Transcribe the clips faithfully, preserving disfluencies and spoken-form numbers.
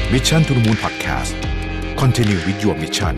Mission to the Moon Podcast Continue with your mission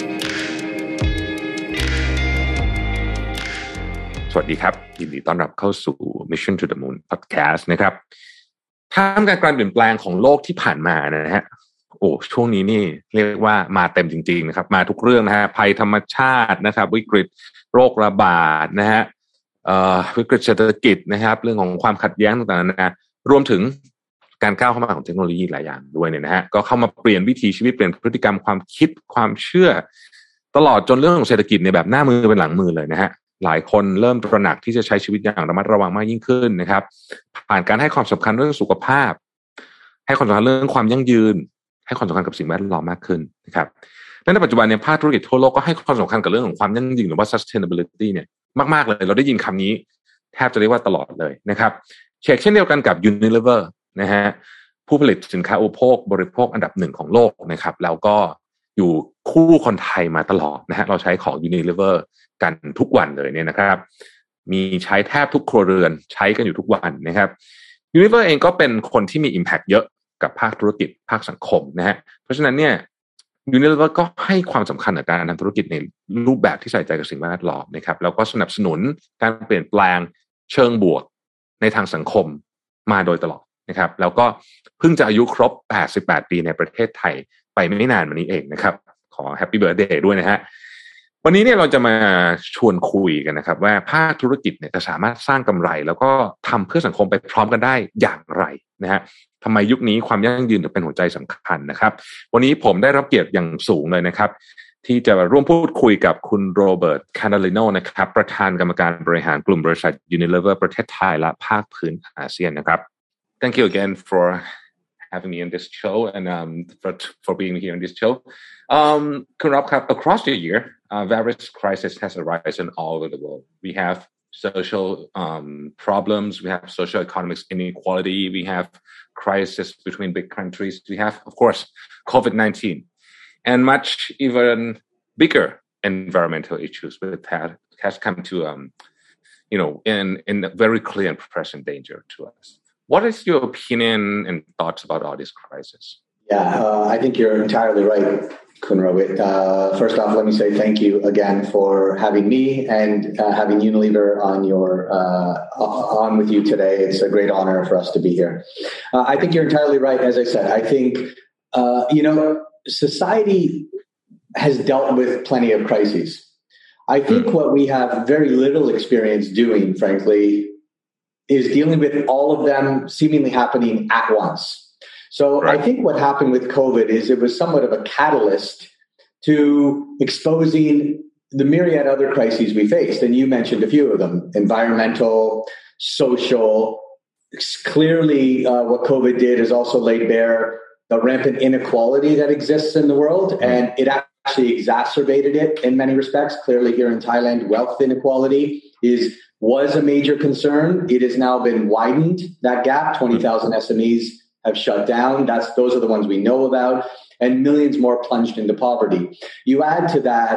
สวัสดีครับยินดีต้อนรับเข้าสู่ Mission to the Moon Podcast นะครับท่ามกลางการเปลี่ยนแปลงของโลกที่ผ่านมานะฮะโอ้ช่วงนี้นี่เรียกว่ามาเต็มจริงๆนะครับมาทุกเรื่องนะฮะภัยธรรมชาตินะครับวิกฤตโรคระบาดนะฮะเอ่อวิกฤตเศรษฐกิจนะครับเรื่องของความขัดแย้งต่างๆนะรวมถึงการก้าวเข้ามาของเทคโนโลยีหลายอย่างด้วยเนี่ยนะฮะก็เข้ามาเปลี่ยนวิถีชีวิตเปลี่ยนพฤติกรรมความคิดความเชื่อตลอดจนเรื่องของเศรษฐกิจในแบบหน้ามือเป็นหลังมือเลยนะฮะหลายคนเริ่มตระหนักที่จะใช้ชีวิตอย่างระมัดระวังมากยิ่งขึ้นนะครับผ่านการให้ความสำคัญเรื่องสุขภาพให้ความสำคัญเรื่องความยั่งยืนให้ความสำคัญกับสิ่งแวดล้อมมากขึ้นนะครับและในปัจจุบันเนี่ยภาคธุรกิจทั่วโลกก็ให้ความสำคัญกับเรื่องของความยั่งยืนหรือว่า sustainability เนี่ยมากๆเลยเราได้ยินคำนี้แทบจะเรียกว่าตลอดเลยนะครับเช่นเช่นเดียวกันกับ Unilever นะฮะผู้ผลิตสินค้าอุปโภคบริโภคอันดับหนึ่งของโลกนะครับแล้วก็อยู่คู่คนไทยมาตลอดนะฮะเราใช้ของ Unilever กันทุกวันเลยเนี่ยนะครับมีใช้แทบทุกครัวเรือนใช้กันอยู่ทุกวันนะครับ Unilever เองก็เป็นคนที่มี impact เยอะกับภาคธุรกิจภาคสังคมนะฮะเพราะฉะนั้นเนี่ย Unilever ก็ให้ความสำคัญกับการทำธุรกิจในรูปแบบที่ใส่ใจกับสิ่งแวดล้อมนะครับแล้วก็สนับสนุนการเปลี่ยนแปลงเชิงบวกในทางสังคมมาโดยตลอดนะครับแล้วก็เพิ่งจะอายุครบแปดสิบแปดปีในประเทศไทยไปไม่นานมานี้เองนะครับขอแฮปปี้เบิร์ธเดย์ด้วยนะฮะวันนี้เนี่ยเราจะมาชวนคุยกันนะครับว่าภาคธุรกิจเนี่ยจะสามารถสร้างกำไรแล้วก็ทำเพื่อสังคมไปพร้อมกันได้อย่างไรนะฮะทำไมยุคนี้ความยั่งยืนถึงเป็นหัวใจสำคัญนะครับวันนี้ผมได้รับเกียรติอย่างสูงเลยนะครับที่จะร่วมพูดคุยกับคุณโรเบิร์ตคานาลิโนนะครับประธานกรรมการบริหารกลุ่มบริษัท Unilever ประเทศไทยและภาคพื้นอาเซียนนะครับ Thank you again for having me on this show and um, for for being here on this show. Um, คุณรับครับ across the year, uh, various crises has arisen all over the world. We have social um, problems, we have social economic inequality, we have crisis between big countries, we have, of course, COVID nineteen, and much even bigger environmental issues that has come to, um, you know, in in very clear and present danger to us.What is your opinion and thoughts about all these crises? Yeah, uh, I think you're entirely right, Kunrawit. Uh, first off, let me say thank you again for having me and uh, having Unilever on your uh, on with you today. It's a great honor for us to be here. Uh, I think you're entirely right. As I said, I think uh, you know society has dealt with plenty of crises. I think mm. what we have very little experience doing, frankly.is dealing with all of them seemingly happening at once. So right. I think what happened with COVID is it was somewhat of a catalyst to exposing the myriad other crises we faced. And you mentioned a few of them, environmental, social. Clearly, uh, what COVID did is also laid bare the rampant inequality that exists in the world. And it actually exacerbated it in many respects. Clearly here in Thailand, wealth inequality is...was a major concern. It has now been widened, that gap. twenty thousand S M Es have shut down. That's Those are the ones we know about. And millions more plunged into poverty. You add to that,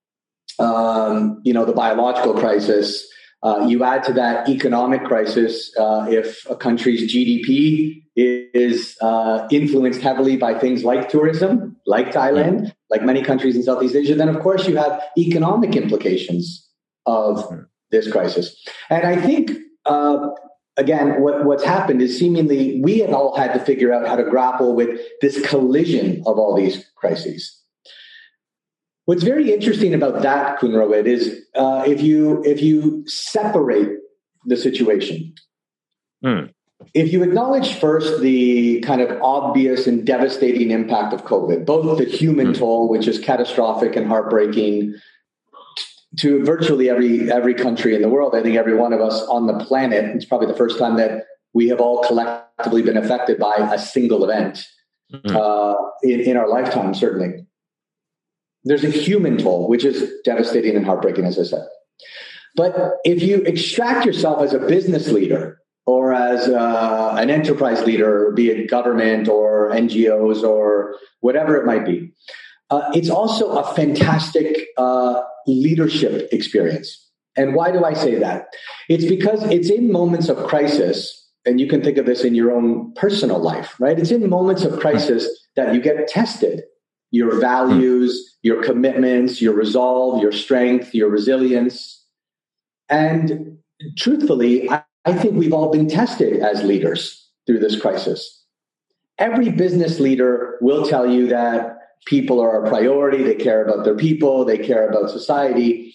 um, you know, the biological crisis. Uh, you add to that economic crisis. Uh, if a country's G D P is uh, influenced heavily by things like tourism, like Thailand, like many countries in Southeast Asia, then of course you have economic implications of...this crisis. And I think, uh, again, what, what's happened is seemingly we have all had to figure out how to grapple with this collision of all these crises. What's very interesting about that, Kunrawit, is uh, if you if you separate the situation, mm. if you acknowledge first the kind of obvious and devastating impact of COVID, both the human mm. toll, which is catastrophic and heartbreaking,to virtually every every country in the world. I think every one of us on the planet, it's probably the first time that we have all collectively been affected by a single event mm-hmm. uh, in, in our lifetime, certainly. There's a human toll, which is devastating and heartbreaking, as I said. But if you extract yourself as a business leader or as uh, an enterprise leader, be it government or N G Os or whatever it might be, uh, it's also a fantastic uh, leadership experience. And why do I say that? It's because it's in moments of crisis and you can think of this in your own personal life, right? It's in moments of crisis that you get tested. Your values, your commitments, your resolve, your strength, your resilience. And truthfully, I, I think we've all been tested as leaders through this crisis. Every business leader will tell you that people are a priority. They care about their people. They care about society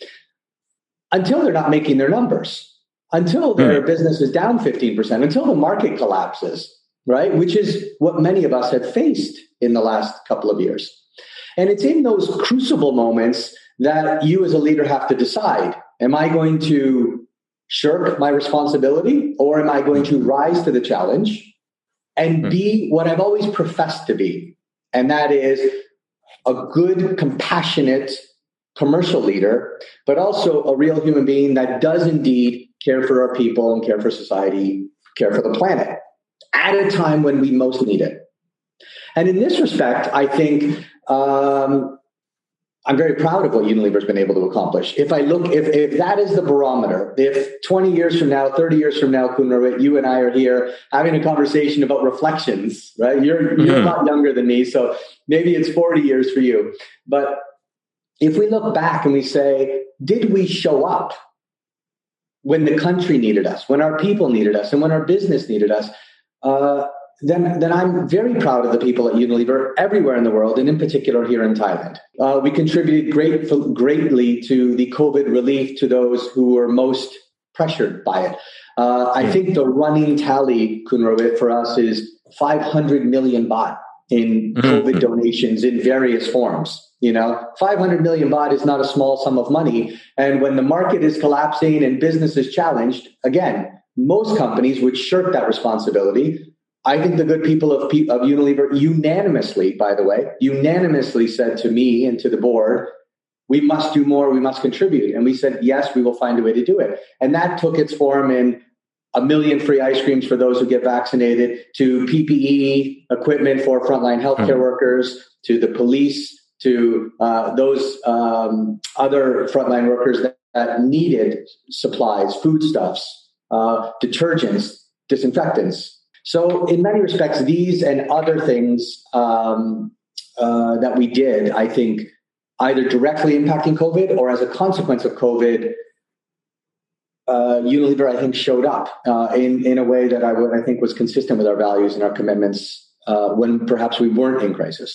until they're not making their numbers, until their mm-hmm. business is down fifteen percent, until the market collapses, right? Which is what many of us have faced in the last couple of years. And it's in those crucible moments that you as a leader have to decide, am I going to shirk my responsibility or am I going to rise to the challenge and be what I've always professed to be? And that is a good, compassionate commercial leader, but also a real human being that does indeed care for our people and care for society, care for the planet at a time when we most need it. And in this respect, I think um, I'm very proud of what Unilever has been able to accomplish. If I look, if, if that is the barometer, if twenty years from now, thirty years from now, Khun Ravit, you and I are here having a conversation about reflections, right? You're, you're a lot younger than me, so maybe it's forty years for you. But if we look back and we say, did we show up when the country needed us, when our people needed us, and when our business needed us? Uh, Then, then I'm very proud of the people at Unilever everywhere in the world, and in particular here in Thailand. Uh, we contributed great, greatly to the COVID relief to those who were most pressured by it. Uh, I think the running tally, Khun Ravit, for us is five hundred million baht in COVID donations in various forms. You know, five hundred million baht is not a small sum of money. And when the market is collapsing and business is challenged, again, most companies would shirk that responsibility. I think the good people of, of Unilever unanimously, by the way, unanimously said to me and to the board, we must do more, we must contribute. And we said, yes, we will find a way to do it. And that took its form in a million free ice creams for those who get vaccinated, to P P E equipment for frontline healthcare mm-hmm. workers, to the police, to uh, those um, other frontline workers that, that needed supplies, foodstuffs, uh, detergents, disinfectants. So in many respects, these and other things um, uh, that we did, I think, either directly impacting COVID or as a consequence of COVID, uh, Unilever, I think, showed up uh, in, in a way that I would, I think, was consistent with our values and our commitments uh, when perhaps we weren't in crisis.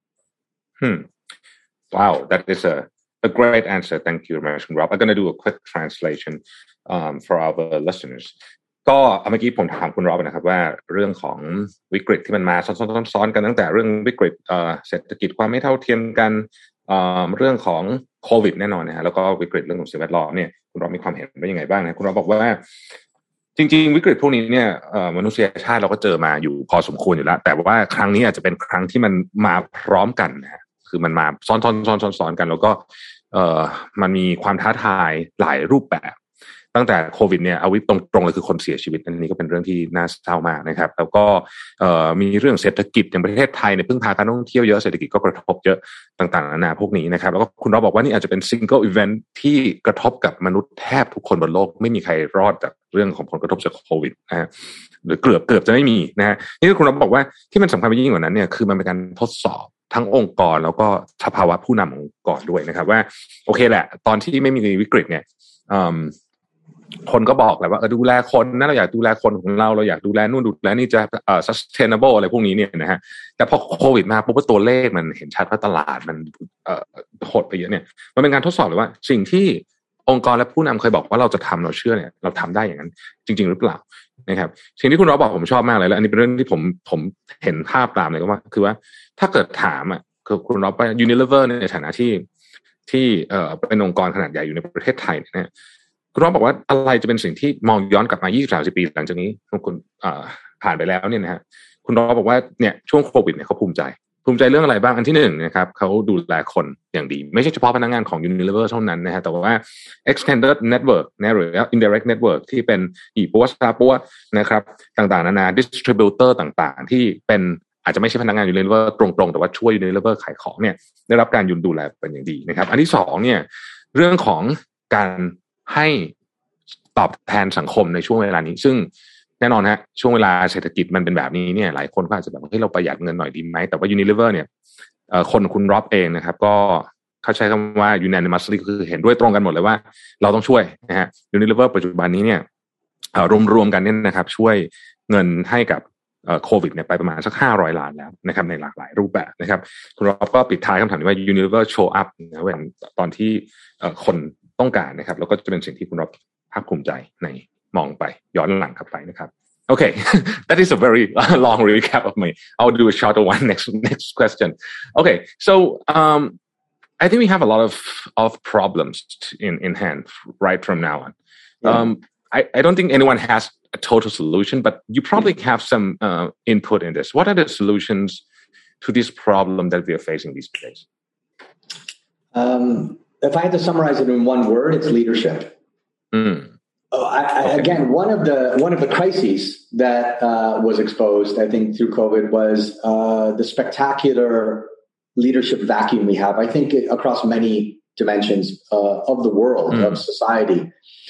Hmm. Wow, that is a, a great answer. Thank you, Rob. I'm going to do a quick translation um, for our listeners.ก็เมื่อกี้ผมถามคุณรอบนะครับว่าเรื่องของวิกฤตที่มันมาซ้อนๆกันตั้งแต่เรื่องวิกฤตเศรษฐกิจความไม่เท่าเทียมกันเรื่องของโควิดแน่นอนนะฮะแล้วก็วิกฤตเรื่องของสิ่งแวดล้อมเนี่ยคุณรอบมีความเห็นว่ายังไงบ้างนะคุณรอบบอกว่าจริงๆวิกฤตพวกนี้เนี่ยมนุษยชาติเราก็เจอมาอยู่พอสมควรอยู่แล้วแต่ว่าครั้งนี้อาจจะเป็นครั้งที่มันมาพร้อมกันนะฮะคือมันมาซ้อนๆๆๆๆกันแล้วก็มันมีความท้าทายหลายรูปแบบตั้งแต่โควิดเนี่ยเอาวิตรงๆเลยคือคนเสียชีวิตอันนี้ก็เป็นเรื่องที่น่าเศร้ามากนะครับแล้วก็มีเรื่องเศรษฐกิจอย่างประเทศไทยเนี่ยพึ่งพาการท่องเที่ยวเยอะเศรษฐกิจก็กระทบเยอะต่างๆนานาพวกนี้นะครับแล้วก็คุณเราบอกว่านี่อาจจะเป็นซิงเกิลอีเวนท์ที่กระทบกับมนุษย์แทบทุกคนบนโลกไม่มีใครรอดจากเรื่องของผลกระทบจากโควิดนะฮะหรือเกือบเกือบจะไม่มีนะฮะนี่คุณเราบอกว่าที่มันสำคัญไปยิ่งกว่านั้นเนี่ยคือมันเป็นการทดสอบทั้งองค์กรแล้วก็สภาวะผู้นำองค์กรด้วยนะครับว่าโอเคแหละตอนที่ไม่มีวิกฤตเนี่ยคนก็บอกแหละว่าเออดูแลคนนะเราอยากดูแลคนของเราเราอยากดูแลนู่นดูแลนี่จะเอ่อ sustainable อะไรพวกนี้เนี่ยนะฮะแต่พอโควิดมาปุ๊บตัวเลขมันเห็นชัดว่าตลาดมันเอ่อหดไปเยอะเนี่ยมันเป็นการทดสอบเลยว่าสิ่งที่องค์กรและผู้นำเคยบอกว่าเราจะทำเราเชื่อเนี่ยเราทำได้อย่างนั้นจริงๆหรือเปล่านะครับสิ่งที่คุณรอบอกผมชอบมากเลยแล้วอันนี้เป็นเรื่องที่ผมผมเห็นภาพตามเลยก็ว่าคือว่าถ้าเกิดถามอ่ะคือคุณรอไป Unilever ในฐานะที่ที่เอ่อเป็นองค์กรขนาดใหญ่อยู่ในประเทศไทยเนี่ยคุณรอบบอกว่าอะไรจะเป็นสิ่งที่มองย้อนกลับมา ยี่สิบถึงสามสิบ ปีหลังจากนี้คุณผ่านไปแล้วเนี่ยนะฮะคุณรอบบอกว่าเนี่ยช่วงโควิดเนี่ยเขาภูมิใจภูมิใจเรื่องอะไรบ้างอันที่หนึ่งนะครับเขาดูแลคนอย่างดีไม่ใช่เฉพาะพนักงานของ Unilever เท่านั้นนะฮะแต่ว่า extended network นะหรือ indirect network ที่เป็นอีปัวซาปัวนะครับต่างๆนานา distributor ต่างๆที่เป็นอาจจะไม่ใช่พนักงาน Unilever ตรงๆแต่ว่าช่วย Unilever ขายของเนี่ยได้รับการยุนดูแลเป็นอย่างดีนะครับอันที่สองเนี่ยเรื่องของการให้ตอบแทนสังคมในช่วงเวลานี้ซึ่งแน่นอนฮะช่วงเวลาเศรษฐกิจมันเป็นแบบนี้เนี่ยหลายคนก็อาจจะแบบเฮ้ยเราประหยัดเงินหน่อยดีไหมแต่ว่า Unilever เนี่ยเอ่อคนคุณร็อบเองนะครับก็เขาใช้คำว่า unanimously คือเห็นด้วยตรงกันหมดเลยว่าเราต้องช่วยนะฮะ Unilever ปัจจุบันนี้เนี่ยเอ่อรวมๆกันเนี่ยนะครับช่วยเงินให้กับเอ่อโควิดเนี่ยไปประมาณสักห้าร้อยล้านแล้วนะครับในหลากหลายรูปแบบนะครับคุณร็อบก็ปิดท้ายคำถามนี้ว่า Unilever show up นะเวลาตอนที่เอ่อคนต้องการนะครับแล้วก็จะเป็นสิ่งที่คุณร็อบภาคภูมิใจในมองไปย้อนหลังกลับไปนะครับ Okay, that is a very long recap of me. I'll do a shorter one next next question. Okay, so um, I think we have a lot of of problems in in hand right from now on. Yeah. Um, I I don't think anyone has a total solution, but you probably have some uh, input in this. What are the solutions to this problem that we are facing these days? Um, if I had to summarize it in one word, it's leadership. Mm. Oh, I, I, again, one of the one of the crises that uh, was exposed, I think, through COVID was uh, the spectacular leadership vacuum we have. I think it, across many dimensions uh, of the world, mm. of society,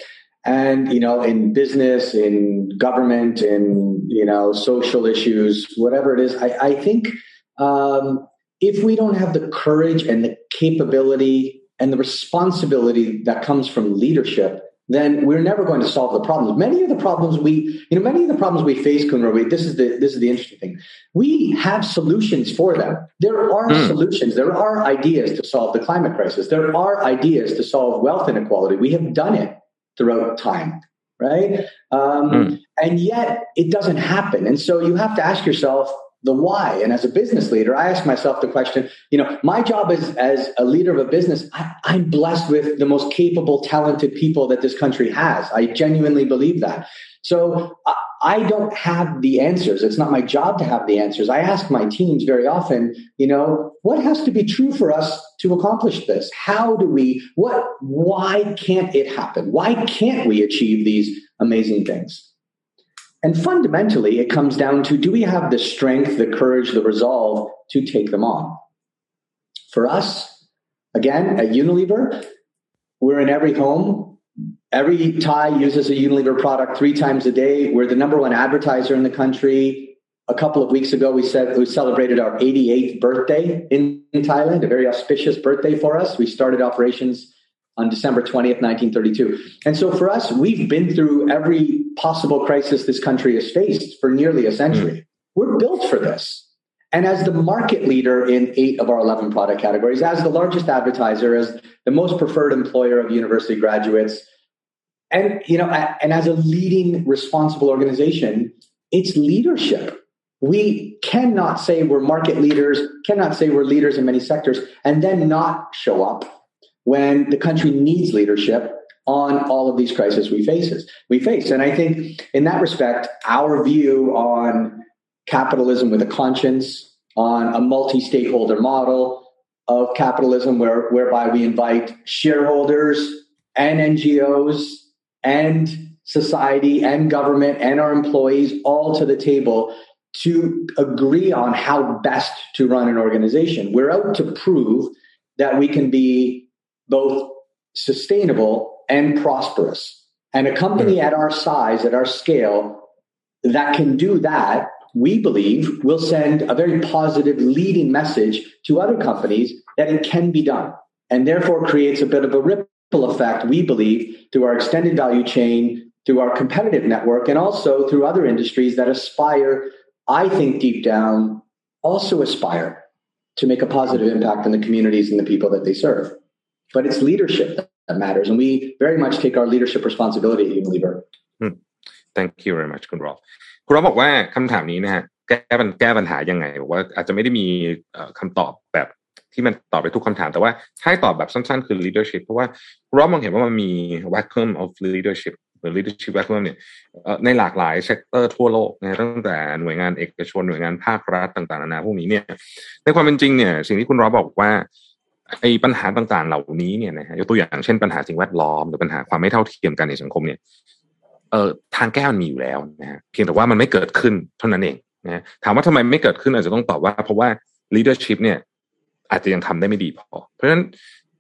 and you know, in business, in government, in you know, social issues, whatever it is. I, I think um, if we don't have the courage and the capability and the responsibility that comes from leadership, then we're never going to solve the problems. Many of the problems we, you know, many of the problems we face, Kunra, we, this is the this is the interesting thing. We have solutions for them. There are mm. solutions. There are ideas to solve the climate crisis. There are ideas to solve wealth inequality. We have done it throughout time, right? Um, mm. And yet it doesn't happen. And so you have to ask yourself the why. And as a business leader, I ask myself the question, you know, my job is as a leader of a business, I, I'm blessed with the most capable, talented people that this country has. I genuinely believe that. So I, I don't have the answers. It's not my job to have the answers. I ask my teams very often, you know, what has to be true for us to accomplish this? How do we, what, why can't it happen? Why can't we achieve these amazing things? And fundamentally, it comes down to, do we have the strength, the courage, the resolve to take them on? For us, again, at Unilever, we're in every home. Every Thai uses a Unilever product three times a day. We're the number one advertiser in the country. A couple of weeks ago, we said we celebrated our eighty-eighth birthday in, in Thailand, a very auspicious birthday for us. We started operations on December twentieth, nineteen thirty-two. And so for us, we've been through every possible crisis this country has faced for nearly a century. Mm. We're built for this. And as the market leader in eight of our eleven product categories, as the largest advertiser, as the most preferred employer of university graduates, and, you know, and as a leading responsible organization, it's leadership. We cannot say we're market leaders, cannot say we're leaders in many sectors, and then not show up when the country needs leadership on all of these crises we faces we face. And I think in that respect, our view on capitalism with a conscience, on a multi-stakeholder model of capitalism where, whereby we invite shareholders and N G Os and society and government and our employees all to the table to agree on how best to run an organization. We're out to prove that we can be both sustainable and prosperous. And a company at our size, at our scale, that can do that, we believe, will send a very positive leading message to other companies that it can be done, and therefore creates a bit of a ripple effect, we believe, through our extended value chain, through our competitive network, and also through other industries that aspire, I think deep down, also aspire to make a positive impact on the communities and the people that they serve. But it's leadership that matters, and we very much take our leadership responsibility at Unilever. Hmm. Thank you very much, คุณรอฟคุณรอฟบอกว่าคำถามนี้นะฮะแก้ปัญแก้ปัญหายังไงบอกว่าอาจจะไม่ได้มีคำตอบแบบที่มันตอบไปทุกคำถามแต่ว่าให้ตอบแบบสั้นๆคือ leadership เพราะว่าคุณรอฟมองเห็นว่ามันมี vacuum of leadership หรือ leadership vacuum เนี่ยในหลากหลายเซกเตอร์ทั่วโลกนะตั้งแต่หน่วยงานเอกชนหน่วยงานภาครัฐต่างๆนานาพวกนี้เนี่ยในความเป็นจริงเนี่ยสิ่งที่คุณรอฟบอกว่าไอ้ปัญหาต่างๆเหล่านี้เนี่ยนะฮะยกตัวอย่างเช่นปัญหาสิ่งแวดล้อมหรือปัญหาความไม่เท่าเทียมกันในสังคมเนี่ยเอ่อทางแก้มันมีอยู่แล้วนะฮะเพียงแต่ว่ามันไม่เกิดขึ้นเท่านั้นเองนะถามว่าทำไมไม่เกิดขึ้นอาจจะต้องตอบว่าเพราะว่า leadership เนี่ยอาจจะยังทำได้ไม่ดีพอเพราะฉะนั้น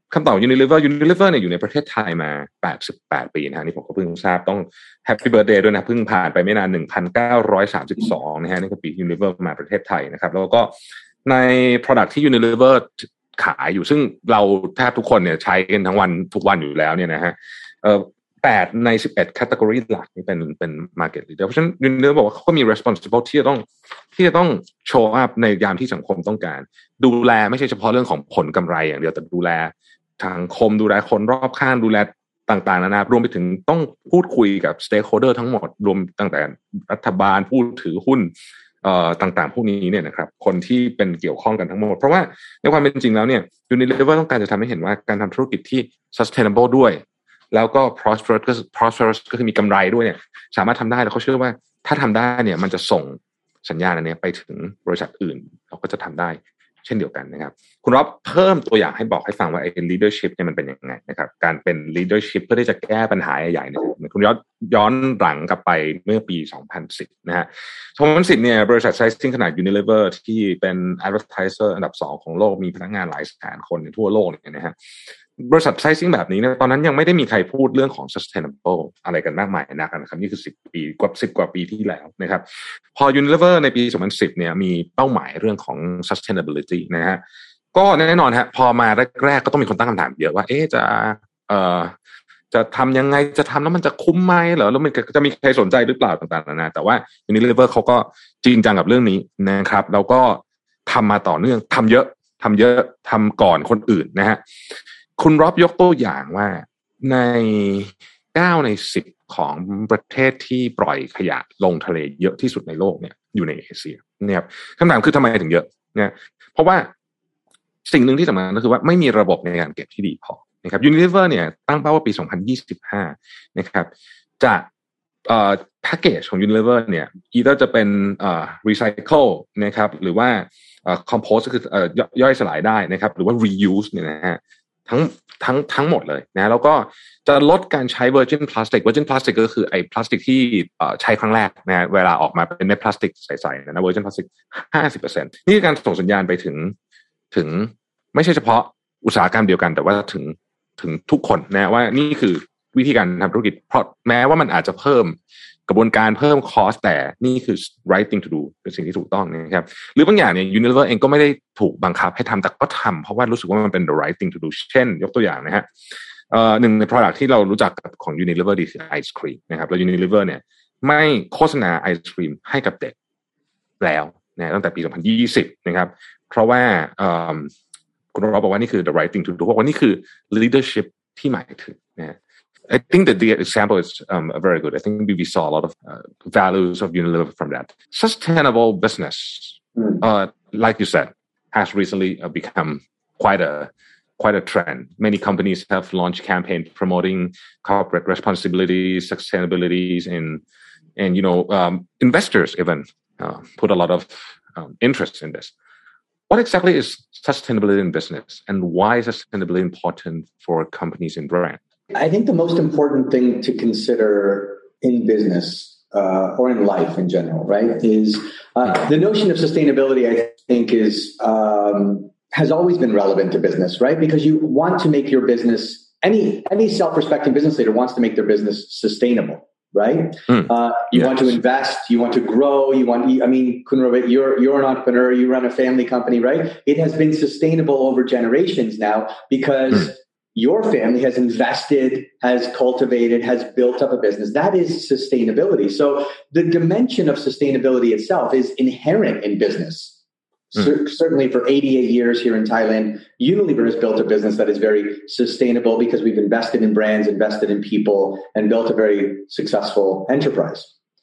คำตอบ Unilever Unilever เนี่ยอยู่ในประเทศไทยมาแปดสิบแปดปีนะฮะนี่ผมก็เพิ่งทราบต้อง Happy Birthday ด้วยนะเพิ่งผ่านไปไม่นานหนึ่งพันเก้าร้อยสามสิบสองนะฮะนี่คือปี Unilever มาประเทศไทยนะครับแล้วก็ใน product ที่ Unilever ขายอยู่ซึ่งเราแทบทุกคนเนี่ยใช้กันทั้งวันทุกวันอยู่แล้วเนี่ยนะฮะเอ่อแปดในสิบเอ็ด category หลักนี่เป็นเป็น market leader เพราะฉะนั้น Unilever บอกว่าเขาก็มี responsible ที่จะต้องที่จะต้อง show up ในยามที่สังคมต้องการดูแลไม่ใช่เฉพาะเรื่องของผลกำไรอย่างเดียวแต่ดูแลสังคมดูแลคนรอบข้างดูแลต่างๆนานารวมไปถึงต้องพูดคุยกับ stakeholder ทั้งหมดรวมตั้งแต่รัฐบาลผู้ถือหุ้นเอ่อต่างๆพวกนี้เนี่ยนะครับคนที่เป็นเกี่ยวข้องกันทั้งหมดเพราะว่าในความเป็นจริงแล้วเนี่ย Unilever ต้องการจะทำให้เห็นว่าการทำธุรกิจที่ sustainable ด้วยแล้วก็ prosperous ก็ prosperous ก็คือมีกำไรด้วยเนี่ยสามารถทำได้แล้วเขาเชื่อว่าถ้าทำได้เนี่ยมันจะส่งสัญญาณอันนี้ไปถึงบริษัทอื่นเราก็จะทำได้เช่นเดียวกันนะครับคุณรอบเพิ่มตัวอย่างให้บอกให้ฟังว่าไอ้ leadership เนี่ยมันเป็นยังไงนะครับการเป็น leadership เพื่อที่จะแก้ปัญหาใหญ่ๆเนี่ยคุณย้อนย้อนหลังกลับไปเมื่อปีสองพันสิบนะฮะสองพันสิบเนี่ยบริษัทไซซิ่งขนาด Unilever ที่เป็น advertiser อันดับสองของโลกมีพนักงานหลายแสนคนทั่วโลกเนี่ยนะฮะบริษัทไซซิ่งแบบนี้เนี่ยตอนนั้นยังไม่ได้มีใครพูดเรื่องของ sustainable อะไรกันมากมายนะครับนี่คือสิบปีกว่าสิบกว่าปีที่แล้วนะครับพอ Unilever ในปีสองพันสิบเนี่ยมีเป้าหมายเรื่องของ sustainability นะฮะก็แน่นอนฮะพอมาแรกๆก็ต้องมีคนตั้งคำถามเยอะว่าเอ๊ะจะเอ่อจะทำยังไงจะทำแล้วมันจะคุ้มไหมเหรอแล้วมันจะมีใครสนใจหรือเปล่าต่างๆนานาแต่ว่า Unilever เขาก็จริงจังกับเรื่องนี้นะครับแล้วก็ทำมาต่อเนื่องทำเยอะทำเยอะทำก่อนคนอื่นนะฮะคุณรอบยกตัวอย่างว่าในเก้าในสิบของประเทศที่ปล่อยขยะลงทะเลเยอะที่สุดในโลกเนี่ยอยู่ในเอเชียนะครับคำถามคือทำไมถึงเยอะเนี่ยเพราะว่าสิ่งหนึ่งที่สำคัญก็คือว่าไม่มีระบบในการเก็บที่ดีพอนะครับ Unilever เนี่ยตั้งเป้าว่าปีสองพันยี่สิบห้านะครับจะเอ่อแพ็คเกจของ Unilever เนี่ยอีถ้าจะเป็นเอ่อ recycle นะครับหรือว่าเอ่อ compost ก็คือเอ่อย่อยสลายได้นะครับหรือว่า reuse เนี่ยนะฮะทั้งทั้งทั้งหมดเลยนะแล้วก็จะลดการใช้ virgin plastic virgin plastic ก็คือไอ้พลาสติกที่ใช้ครั้งแรกนะเวลาออกมาเป็นเม็ดพลาสติกใสๆนะ virgin plastic ห้าสิบเปอร์เซ็นต์ นี่คือการส่งสัญญาณไปถึงถึงไม่ใช่เฉพาะอุตสาหกรรมเดียวกันแต่ว่าถึงถึงทุกคนนะว่านี่คือวิธีการทำธุรกิจเพราะแม้ว่ามันอาจจะเพิ่มกระบวนการเพิ่มคอสแต่นี่คือ right thing to do เป็นสิ่งที่ถูกต้องนะครับหรือบางอย่างเนี่ย Unilever เองก็ไม่ได้ถูกบังคับให้ทำแต่ก็ทำเพราะว่ารู้สึกว่ามันเป็น the right thing to do เช่นยกตัวอย่างนะฮะเอ่อหนึ่งใน product ที่เรารู้จักของ Unilever ดีคือไอศครีมนะครับแล้ว Unilever เนี่ยไม่โฆษณาไอศครีมให้กับเด็กแล้วนะตั้งแต่ปีสองพันยี่สิบนะครับเพราะว่าเอ่อคุณรอบบอกว่านี่คือ the right thing to do เพราะว่านี่คือ leadership ที่หมายถึงนะ I think that the example is um, very good. I think we saw a lot of uh, values of Unilever from that. Sustainable business, mm. uh, like you said, has recently uh, become quite a quite a trend. Many companies have launched campaigns promoting corporate responsibilities, sustainabilities, and and you know um, investors even uh, put a lot of um, interest in this. What exactly is sustainability in business, and why is sustainability important for companies and brands? I think the most important thing to consider in business uh, or in life in general, right, is uh, the notion of sustainability, I think, is um, has always been relevant to business, right? Because you want to make your business, any any self-respecting business leader wants to make their business sustainable, right? Mm. Uh, you yes. want to invest, you want to grow, you want, I mean, Kunravit, you're, you're an entrepreneur, you run a family company, right? It has been sustainable over generations now because mm. your family has invested, has cultivated, has built up a business. That is sustainability. So the dimension of sustainability itself is inherent in business. Mm. C- certainly for eighty-eight years here in Thailand, Unilever has built a business that is very sustainable because we've invested in brands, invested in people, and built a very successful enterprise.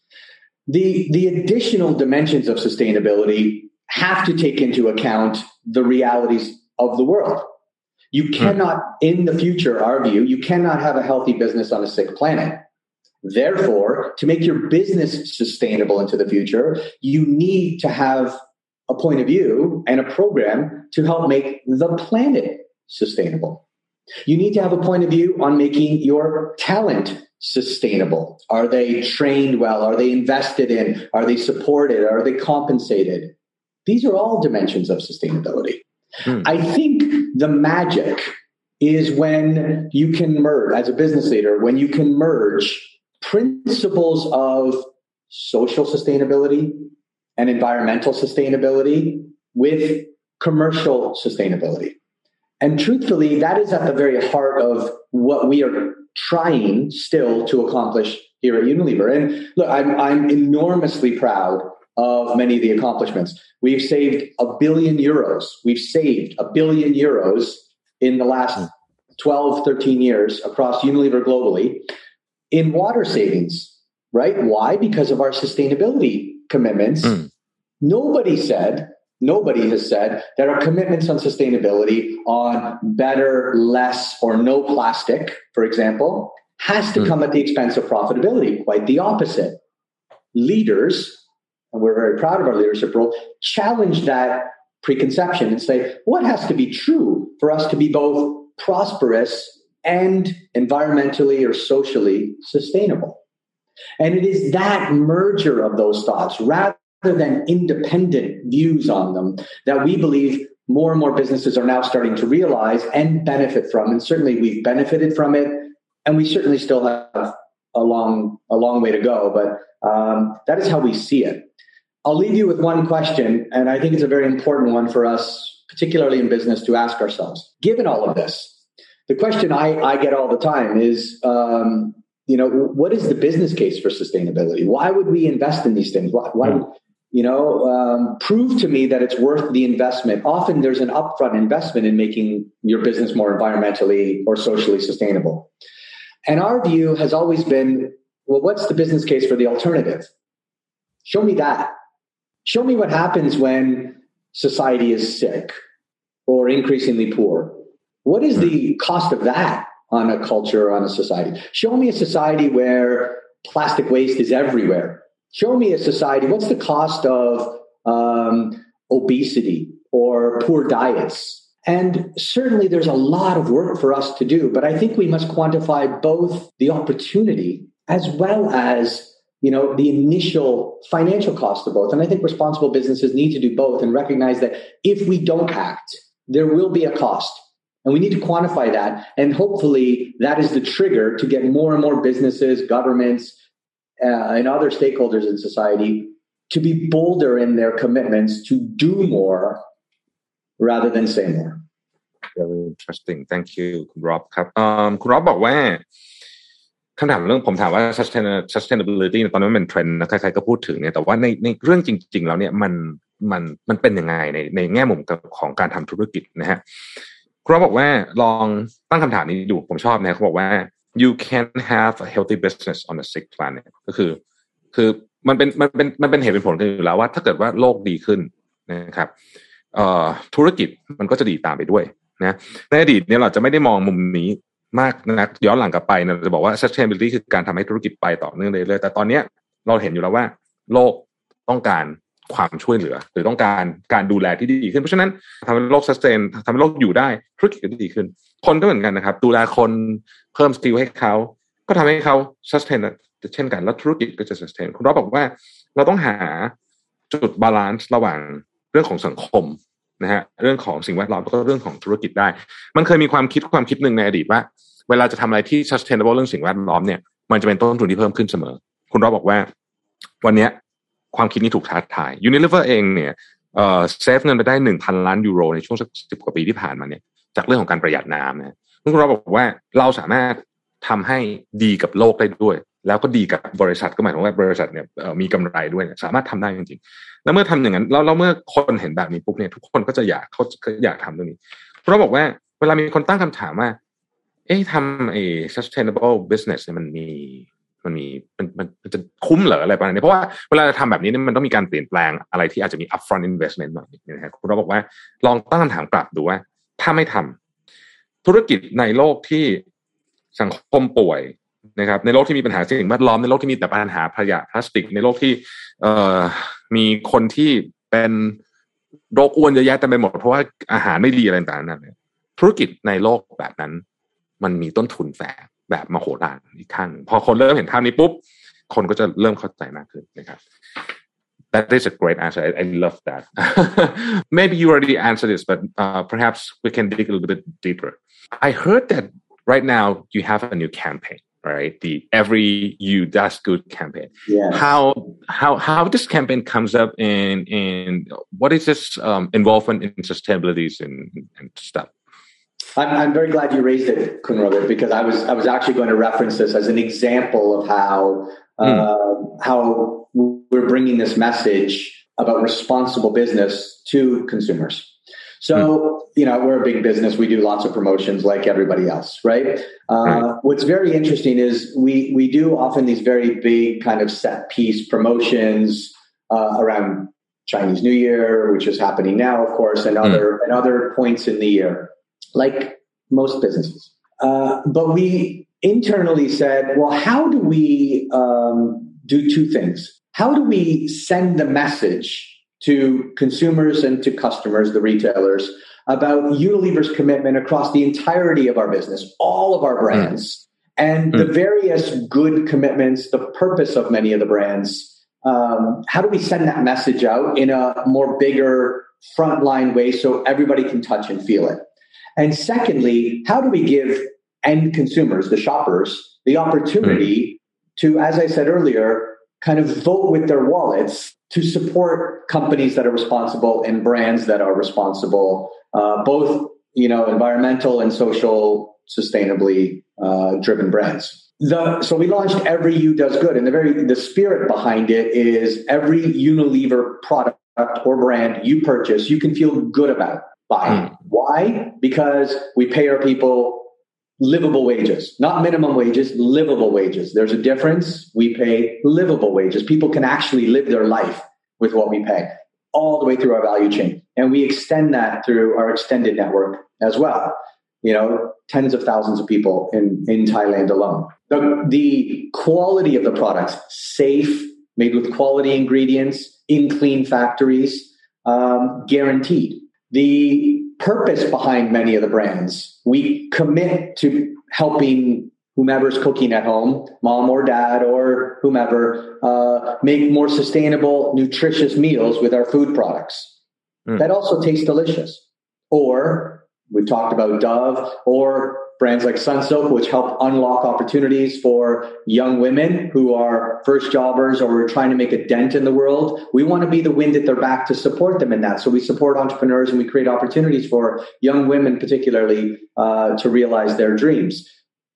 The, the additional dimensions of sustainability have to take into account the realities of the world. You cannot, in the future, our view, you cannot have a healthy business on a sick planet. Therefore, to make your business sustainable into the future, you need to have a point of view and a program to help make the planet sustainable. You need to have a point of view on making your talent sustainable. Are they trained well? Are they invested in? Are they supported? Are they compensated? These are all dimensions of sustainability. Hmm. I think the magic is when you can merge, as a business leader, when you can merge principles of social sustainability and environmental sustainability with commercial sustainability. And truthfully, that is at the very heart of what we are trying still to accomplish here at Unilever. And look, I'm, I'm enormously proud of many of the accomplishments. We've saved a billion euros. We've saved a billion euros in the last twelve, thirteen years across Unilever globally in water savings, right? Why? Because of our sustainability commitments. Mm. Nobody said, nobody has said that our commitments on sustainability, on better, less, or no plastic, for example, has to mm. come at the expense of profitability. Quite the opposite. Leaders, and we're very proud of our leadership role, challenge that preconception and say, what has to be true for us to be both prosperous and environmentally or socially sustainable? And it is that merger of those thoughts, rather than independent views on them, that we believe more and more businesses are now starting to realize and benefit from. And certainly we've benefited from it, and we certainly still have a long, a long way to go. But um, that is how we see it. I'll leave you with one question, and I think it's a very important one for us, particularly in business, to ask ourselves. Given all of this, the question I, I get all the time is, um, you know, what is the business case for sustainability? Why would we invest in these things? Why, why would, you know, um, prove to me that it's worth the investment? Often there's an upfront investment in making your business more environmentally or socially sustainable. And our view has always been, well, what's the business case for the alternative? Show me that. Show me what happens when society is sick or increasingly poor. What is the cost of that on a culture or on a society? Show me a society where plastic waste is everywhere. Show me a society. What's the cost of um, obesity or poor diets? And certainly there's a lot of work for us to do, but I think we must quantify both the opportunity as well as, you know, the initial financial cost of both. And I think responsible businesses need to do both and recognize that if we don't act, there will be a cost. And we need to quantify that. And hopefully that is the trigger to get more and more businesses, governments, uh, and other stakeholders in society to be bolder in their commitments to do more rather than say more. Very interesting. Thank you คุณร็อบครับคุณร็อบบอกว่าคำถามเรื่องผมถามว่า sustainability ตอนนี้มันเป็นเทรนด์นะใครๆก็พูดถึงเนี่ยแต่ว่าในในเรื่องจริงๆแล้วเนี่ยมันมันมันเป็นยังไงในในแง่มุมของการทำธุรกิจนะฮะคุณร็อบบอกว่าลองตั้งคำถามนี้ดูผมชอบนะเขาบอกว่า you can have a healthy business on a sick planet ก็คือคือมันเป็นมันเป็นมันเป็นเหตุเป็นผลกันอยู่แล้วว่าถ้าเกิดว่าโลกดีขึ้นนะครับเอ่อธุรกิจมันก็จะดีตามไปด้วยนะในอดีตเนี่ยเราจะไม่ได้มองมุมนี้มากนักย้อนหลังกลับไปนะจะบอกว่า sustainability คือการทำให้ธุรกิจไปต่อเนื่องเรื่อยๆแต่ตอนนี้เราเห็นอยู่แล้วว่าโลกต้องการความช่วยเหลือหรือต้องการการดูแลที่ดีขึ้นเพราะฉะนั้นทำให้โลก sustain ทำให้โลกอยู่ได้ธุรกิจก็ดีขึ้นคนก็เหมือนกันนะครับดูแลคนเพิ่มสกิลให้เขาก็ทำให้เขา sustain เช่นกันแล้วธุรกิจก็จะ sustain คุณร็อบบอกว่าเราต้องหาจุดบาลานซ์ระหว่างเรื่องของสังคมนะฮะเรื่องของสิ่งแวดล้อมแล้วก็เรื่องของธุรกิจได้มันเคยมีความคิดความคิดหนึ่งในอดีตว่าเวลาจะทำอะไรที่ sustainable เรื่องสิ่งแวดล้อมเนี่ยมันจะเป็นต้นทุนที่เพิ่มขึ้นเสมอคุณร็อบบอกว่าวันนี้ความคิดนี้ถูกท้าทาย Unilever เองเนี่ยเอ่อเซฟเงินไปได้ หนึ่งพัน ล้านยูโรในช่วงสักสิบกว่าปีที่ผ่านมาเนี่ยจากเรื่องของการประหยัดน้ำนะคุณร็อบบอกว่าเราสามารถทำให้ดีกับโลกได้ด้วยแล้วก็ดีกับบริษัทก็หมายถึงว่าบริษัทเนี่ยมีกำไรด้วยสามารถทำได้จริงๆแล้วเมื่อทำอย่างนั้นแล้วแล้วเมื่อคนเห็นแบบนี้ปุ๊บเนี่ยทุกคนก็จะอยากเขาอยากทำตรงนี้เราบอกว่าเวลามีคนตั้งคำถามว่าเอ๊ะทำไอ้ sustainable business เนี่ยมันมีมันมีมันมันมันจะคุ้มเหรออะไรประมาณนี้เพราะว่าเวลาทำแบบนี้เนี่ยมันต้องมีการเปลี่ยนแปลงอะไรที่อาจจะมี upfront investment หน่อยนะฮะเราบอกว่าลองตั้งคำถามกลับดูว่าถ้าไม่ทำธุรกิจในโลกที่สังคมป่วยนะครับในโลกที่มีปัญหาสิ่งแวดล้อมในโลกที่มีแต่ปัญหาขยะพลาสติกในโลกที่เอ่อมีคนที่เป็นโรคอ้วนเยอะแยะเต็มไปหมดเพราะว่าอาหารไม่ดีอะไรต่างๆนั่นเนี่ยธุรกิจในโลกแบบนั้นมันมีต้นทุนแฝงแบบมโหฬารอีกครั้งพอคนเริ่มเห็นภาพนี้ปุ๊บคนก็จะเริ่มเข้าใจมากขึ้นนะครับ That is a great answer. I, I love that. Maybe you already answered this, but uh, perhaps we can dig a little bit deeper. I heard that right now you have a new campaign, right? The Every You Does Good campaign. Yeah. How how how this campaign comes up in in what is this um, involvement in sustainability and, and stuff? I'm, I'm very glad you raised it, Kunal, because I was I was actually going to reference this as an example of how uh, mm. how we're bringing this message about responsible business to consumers. So, mm. you know, we're a big business. We do lots of promotions like everybody else, right? Uh, right. What's very interesting is we we do often these very big kind of set piece promotions uh, around Chinese New Year, which is happening now, of course, and other mm. and other points in the year, like most businesses. Uh, but we internally said, well, how do we um, do two things? How do we send the message to consumers and to customers, the retailers, about Unilever's commitment across the entirety of our business, all of our brands, mm. and mm. the various good commitments, the purpose of many of the brands? Um, how do we send that message out in a more bigger frontline way so everybody can touch and feel it? And secondly, how do we give end consumers, the shoppers, the opportunity mm. to, as I said earlier, kind of vote with their wallets to support companies that are responsible and brands that are responsible, uh, both, you know, environmental and social, sustainably uh, driven brands. The, so we launched Every You Does Good, and the very the spirit behind it is every Unilever product or brand you purchase, you can feel good about buying. Mm. Why? Because we pay our people livable wages, not minimum wages, livable wages. There's a difference. We pay livable wages. People can actually live their life with what we pay all the way through our value chain. And we extend that through our extended network as well. You know, tens of thousands of people in, in Thailand alone. The, the quality of the products, safe, made with quality ingredients, in clean factories, um, guaranteed. The purpose behind many of the brands, we commit to helping whomever's cooking at home, mom or dad or whomever, uh, make more sustainable, nutritious meals with our food products. Mm. That also taste delicious. Or we've talked about Dove, or brands like Sunsilk, which help unlock opportunities for young women who are first jobbers or are trying to make a dent in the world. We want to be the wind at their back to support them in that. So we support entrepreneurs and we create opportunities for young women, particularly, uh, to realize their dreams.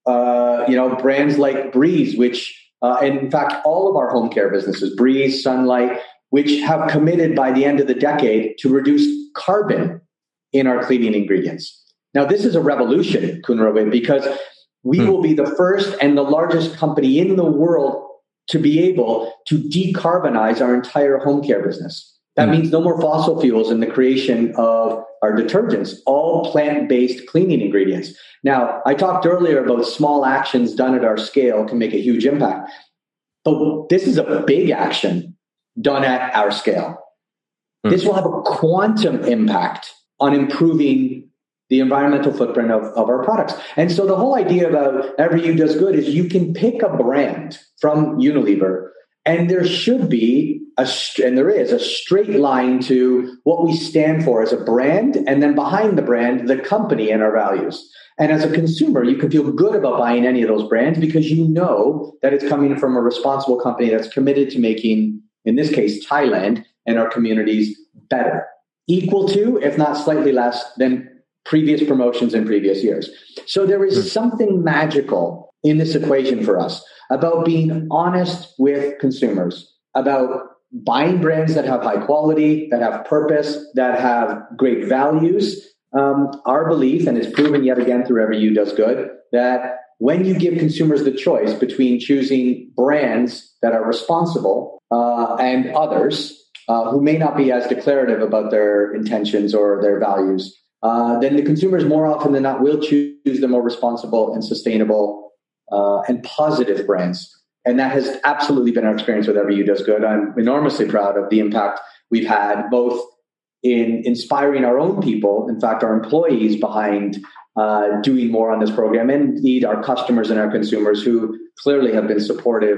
Uh, you know, brands like Breeze, which, uh, and in fact, all of our home care businesses, Breeze, Sunlight, which have committed by the end of the decade to reduce carbon in our cleaning ingredients. Now, this is a revolution, Kunal, because we hmm. will be the first and the largest company in the world to be able to decarbonize our entire home care business. That hmm. means no more fossil fuels in the creation of our detergents, all plant-based cleaning ingredients. Now, I talked earlier about small actions done at our scale can make a huge impact. But this is a big action done at our scale. Hmm. This will have a quantum impact on improving the environmental footprint of, of our products. And so the whole idea about Every You Does Good is you can pick a brand from Unilever, and there should be, a and there is, a straight line to what we stand for as a brand, and then behind the brand, the company and our values. And as a consumer, you can feel good about buying any of those brands because you know that it's coming from a responsible company that's committed to making, in this case, Thailand and our communities better. Equal to, if not slightly less than previous promotions in previous years. So there is mm. something magical in this equation for us about being honest with consumers, about buying brands that have high quality, that have purpose, that have great values. Um, our belief, and it's proven yet again through Every You Does Good, that when you give consumers the choice between choosing brands that are responsible uh, and others uh, who may not be as declarative about their intentions or their values, Uh, then the consumers more often than not will choose the more responsible and sustainable uh, and positive brands. And that has absolutely been our experience with Every You Does Good. I'm enormously proud of the impact we've had, both in inspiring our own people, in fact, our employees behind uh, doing more on this program, and indeed our customers and our consumers who clearly have been supportive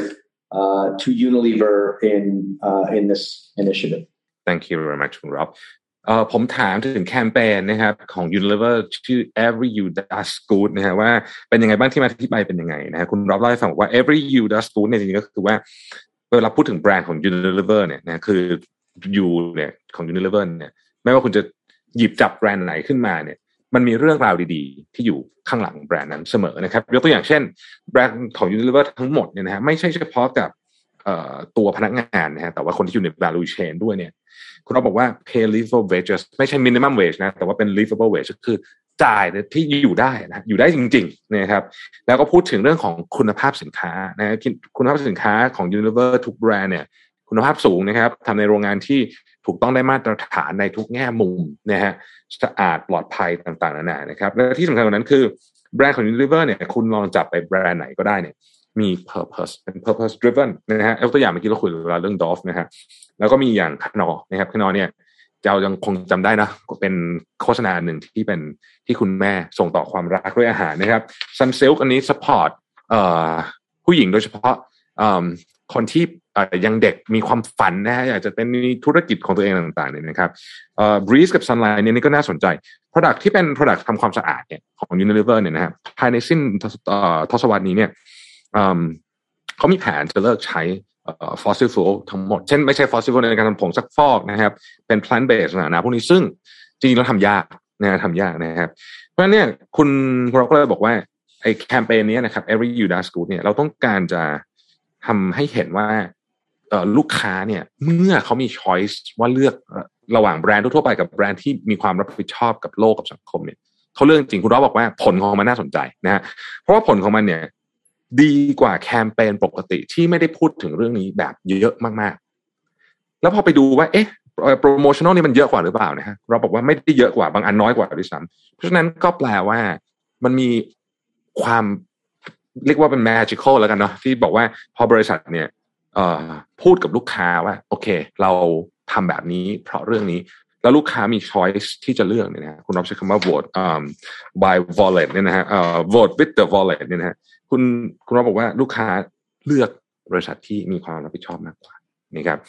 uh, to Unilever in uh, in this initiative. Thank you very much คุณ Rob เอ่อผมถามถึงแคมเปญนะครับของ Unilever ชื่อ Every You Does Good นะฮะว่าเป็นยังไงบ้างที่มาที่ไปเป็นยังไงนะฮะคุณ Rob เล่าให้ฟังว่า Every You Does Good เนี่ยจริงๆก็คือว่าเวลาพูดถึงแบรนด์ของ Unilever เนี่ยนะคือ You เนี่ยของ Unilever เนี่ยไม่ว่าคุณจะหยิบจับแบรนด์ไหนขึ้นมาเนี่ยมันมีเรื่องราวดีๆที่อยู่ข้างหลังแบรนด์นั้นเสมอนะครับยกตัวอย่างเช่นแบรนด์ของ Unilever ทั้งหมดเนี่ยนะฮะไม่ใช่เฉพาะกับเอ่อตัวพนักงานนะฮะแต่ว่าคนที่อยู่ใน value chain ด้วยเนี่ยคุณเราบอกว่า pay livable wages ไม่ใช่ minimum wage นะแต่ว่าเป็น livable wage ก็คือจ่ายที่อยู่ได้นะอยู่ได้จริงๆนะครับแล้วก็พูดถึงเรื่องของคุณภาพสินค้านะคุณภาพสินค้าของ Unilever ทุกแบรนด์เนี่ยคุณภาพสูงนะครับทำในโรงงานที่ถูกต้องได้มาตรฐานในทุกแง่มุมนะฮะสะอาดปลอดภัยต่างๆนานานะครับและที่สำคัญกว่านั้นคือแบรนด์ของ Unilever เนี่ยคุณลองจับไปแบรนด์ไหนก็ได้เนี่ยมี purpose เป็น purpose driven นะฮะยกตัวอย่างเมื่อกี้เราคุยเรื่อง Dove นะฮะแล้วก็มีอย่างคานอนะครับคานอเนี่ยเรายังคงจำได้นะเป็นโฆษณาหนึ่งที่เป็นที่คุณแม่ส่งต่อความรักด้วยอาหารนะครับ Sunsilk อันนี้ support เอ่อผู้หญิงโดยเฉพาะเอ่อคนที่ยังเด็กมีความฝันนะฮะอยากจะเป็นธุรกิจของตัวเองต่างๆเนี่ยนะครับเอ่อ Breeze กับ Sunlight เนี่ยนี่ก็น่าสนใจ product ที่เป็น product ทำความสะอาดเนี่ยของ Unilever เนี่ยนะครับภายในสิ้นทศวรรษนี้เนี่ยเขามีแผนจะเลิกใช้fossil fuel ทั้งหมดเช่นไม่ใช่ fossil fuel ในการทำผงซักฟอกนะครับเป็น plant based นะพวกนี้ซึ่งจริงๆแล้วทำยากนะทำยากนะครับเพราะฉะนั้นเนี่ยคุณเราก็เลยบอกว่าไอ้แคมเปญนี้นะครับ Every You Does Good เนี่ยเราต้องการจะทำให้เห็นว่าลูกค้าเนี่ยเมื่อเขามี choice ว่าเลือกระหว่างแบรนด์ทั่วไปกับแบรนด์ที่มีความรับผิดชอบกับโลกกับสังคมเนี่ยเขาเลือกจริงคุณร้อบอกว่าผลของมันน่าสนใจนะฮะเพราะว่าผลของมันเนี่ยดีกว่าแคมเปญปกติที่ไม่ได้พูดถึงเรื่องนี้แบบเยอะมากๆแล้วพอไปดูว่าเอ๊ะโปรโมชั่นอลนี่มันเยอะกว่าหรือเปล่านะฮะเราบอกว่าไม่ได้เยอะกว่าบางอันน้อยกว่าด้วยซ้ำเพราะฉะนั้นก็แปลว่ามันมีความเรียกว่าเป็น magical แล้วกันเนาะที่บอกว่าพอบริษัทเนี่ยเอ่อพูดกับลูกค้าว่าโอเคเราทำแบบนี้เพราะเรื่องนี้แล้วลูกค้ามี choice ที่จะเลือกเนี่ยนะคุณรับใช้คำว่า vote um, by wallet เนี่ยนะฮะเอ่อ vote with the wallet เนี่ยนะฮะคุณคุณรับบอกว่าลูกค้าเลือกบริษัทที่มีความรับผิดชอบมากกว่านี่ครับ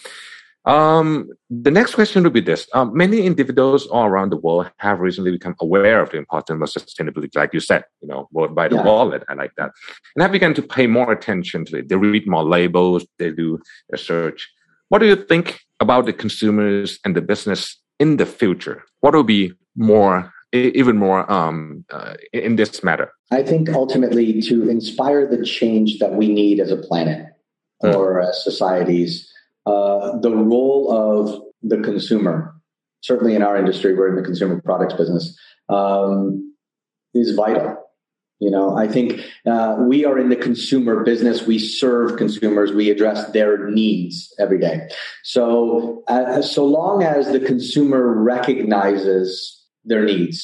Um, the next question would be this. Um, many individuals all around the world have recently become aware of the importance of sustainability, like you said, you know, vote by the yeah. wallet. I like that. And have begun to pay more attention to it. They read more labels. They do research. What do you think about the consumers and the business in the future? What will be more, even more um, uh, in this matter? I think ultimately to inspire the change that we need as a planet mm. or as societies, Uh, the role of the consumer, certainly in our industry, we're in the consumer products business, um, is vital. You know, I think uh, we are in the consumer business. We serve consumers. We address their needs every day. So, uh, so long as the consumer recognizes their needs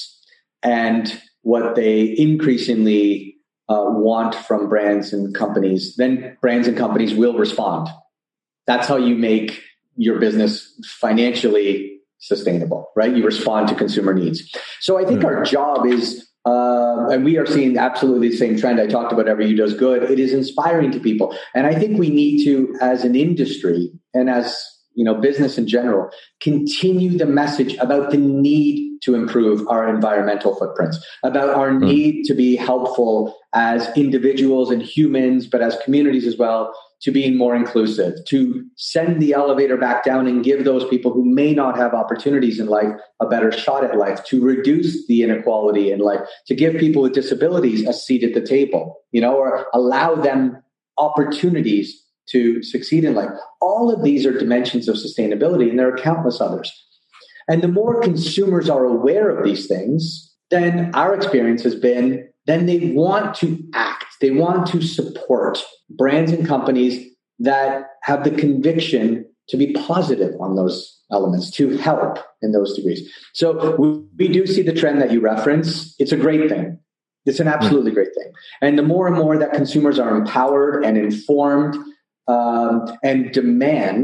and what they increasingly uh, want from brands and companies, then brands and companies will respond. That's how you make your business financially sustainable, right? You respond to consumer needs. So I think mm. our job is, uh, and we are seeing absolutely the same trend I talked about, Every You Does Good. It is inspiring to people. And I think we need to, as an industry and as, you know, business in general, continue the message about the need to improve our environmental footprints, about our mm. need to be helpful as individuals and humans, but as communities as well, to being more inclusive, to send the elevator back down and give those people who may not have opportunities in life a better shot at life, to reduce the inequality in life, to give people with disabilities a seat at the table, you know, or allow them opportunities to succeed in life. All of these are dimensions of sustainability, and there are countless others. And the more consumers are aware of these things, then our experience has been, then they want to act. They want to support brands and companies that have the conviction to be positive on those elements, to help in those degrees. So we, we do see the trend that you reference. It's a great thing. It's an absolutely great thing. And the more and more that consumers are empowered and informed um, and demand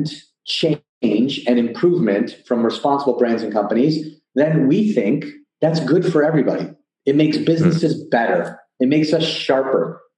change and improvement from responsible brands and companies, then we think that's good for everybody. It makes businesses better. It makes us sharper.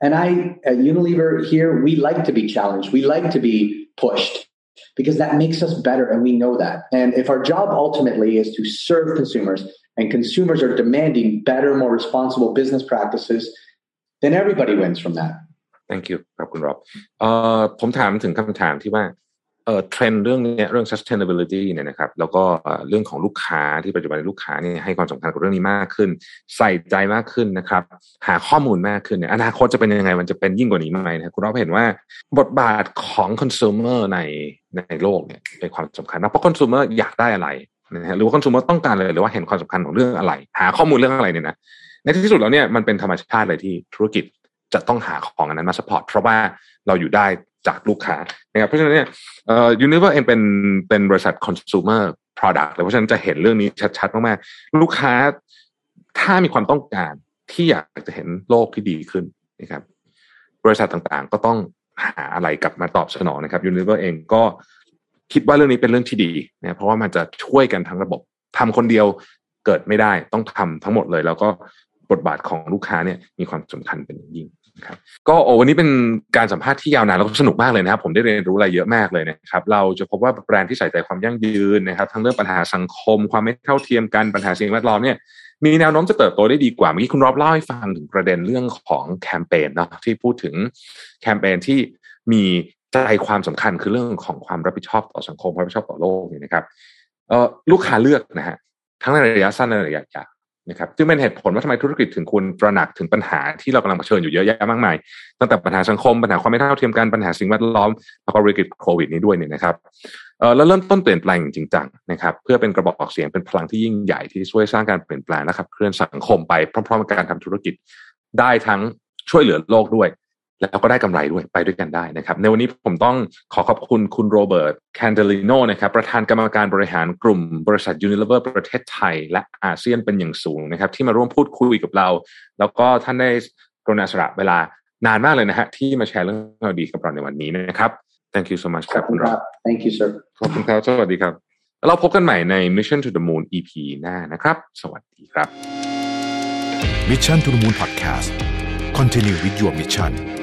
And I, at Unilever here, we like to be challenged. We like to be pushed because that makes us better, and we know that. And if our job ultimately is to serve consumers, and consumers are demanding better, more responsible business practices, then everybody wins from that. Thank you ครับคุณรอบเอ่อผมถามถึงคำถามที่ว่าเอ่อเทรนด์เรื่องนี้เรื่อง sustainability เนี่ยนะครับแล้วก็เรื่องของลูกค้าที่ปัจจุบันลูกค้าเนี่ยให้ความสำคัญกับเรื่องนี้มากขึ้นใส่ใจมากขึ้นนะครับหาข้อมูลมากขึ้นเนี่ยอนาคตจะเป็นยังไงมันจะเป็นยิ่งกว่านี้ไหมนะคุณรอบเห็นว่าบทบาทของ consumer ในในโลกเนี่ยเป็นความสำคัญนะเพราะ consumer อยากได้อะไรนะฮะหรือว่า consumer ต้องการอะไรหรือว่าเห็นความสำคัญของเรื่องอะไรหาข้อมูลเรื่องอะไรเนี่ยนะในที่สุดแล้วเนี่ยมันเป็นธรรมชาติเลยที่ธุรกิจจะต้องหาของอันนั้นมา support เพราะว่าเราอยู่ได้จากลูกค้านะครับเพราะฉะนั้นเนี่ยเอ่อ Unilever เองเป็นเป็นบริษัท consumer product เลยเพราะฉะนั้นจะเห็นเรื่องนี้ชัดๆมากๆลูกค้าถ้ามีความต้องการที่อยากจะเห็นโลกที่ดีขึ้นนะครับบริษัทต่างๆก็ต้องหาอะไรกลับมาตอบสนองนะครับ Unilever เองก็คิดว่าเรื่องนี้เป็นเรื่องที่ดีนะเพราะว่ามันจะช่วยกันทั้งระบบทำคนเดียวเกิดไม่ได้ต้องทำทั้งหมดเลยแล้วก็บทบาทของลูกค้าเนี่ยมีความสำคัญเป็นอย่างยิ่งครับก็โอ้วันนี้เป็นการสัมภาษณ์ที่ยาวนานแล้วก็สนุกมากเลยนะครับผมได้เรียนรู้อะไรเยอะมากเลยนะครับเราจะพบว่าแบรนด์ที่ใส่ใจความยั่งยืนนะครับทั้งเรื่องปัญหาสังคมความไม่เท่าเทียมกันปัญหาสิ่งแวดล้อมเนี่ยมีแนวโน้มจะเติบโตได้ดีกว่าเมื่อกี้คุณรอบเล่าให้ฟังถึงประเด็นเรื่องของแคมเปญเนาะที่พูดถึงแคมเปญที่มีใจความสำคัญคือเรื่องของความรับผิดชอบต่อสังคมความรับผิดชอบต่อโลกเนี่ยนะครับเอ่อลูกค้าเลือกนะฮะทั้งในระยะสั้นและระยะยาวนะครับซึ่งเป็นเหตุผลว่าทำไมธุรกิจถึงควรตระหนักถึงปัญหาที่เรากำลังเผชิญอยู่เยอะแยะมากมายตั้งแต่ปัญหาสังคมปัญหาความไม่เท่าเทียมกันปัญหาสิ่งแวดล้อมแล้วก็วิกฤตโควิดนี้ด้วยเนี่ยนะครับเอ่อแล้วเริ่มต้นเปลี่ยนแปลงจริงจังนะครับเพื่อเป็นกระบอกเสียงเป็นพลังที่ยิ่งใหญ่ที่ช่วยสร้างการเปลี่ยนแปลงและขับเคลื่อนสังคมไปพร้อมๆกับการทำธุรกิจได้ทั้งช่วยเหลือโลกด้วยแล้วก็ได้กำไรด้วยไปด้วยกันได้นะครับในวันนี้ผมต้องขอขอบคุณคุณโรเบิร์ตแคนเดลิโนนะครับประธานกรรมการบริหารกลุ่มบริษัท Unilever ประเทศไทยและอาเซียนเป็นอย่างสูงนะครับที่มาร่วมพูดคุยกับเราแล้วก็ท่านได้กรุณาสละเวลานานมากเลยนะฮะที่มาแชร์เรื่องราวดีกับเราในวันนี้นะครับ Thank you so much ครับคุณรอบ Thank you sir ขอบคุณครับสวัสดีครับแล้วเราพบกันใหม่ใน Mission to the Moon อี พี หน้านะครับสวัสดีครับ Mission to the Moon Podcast Continue with your mission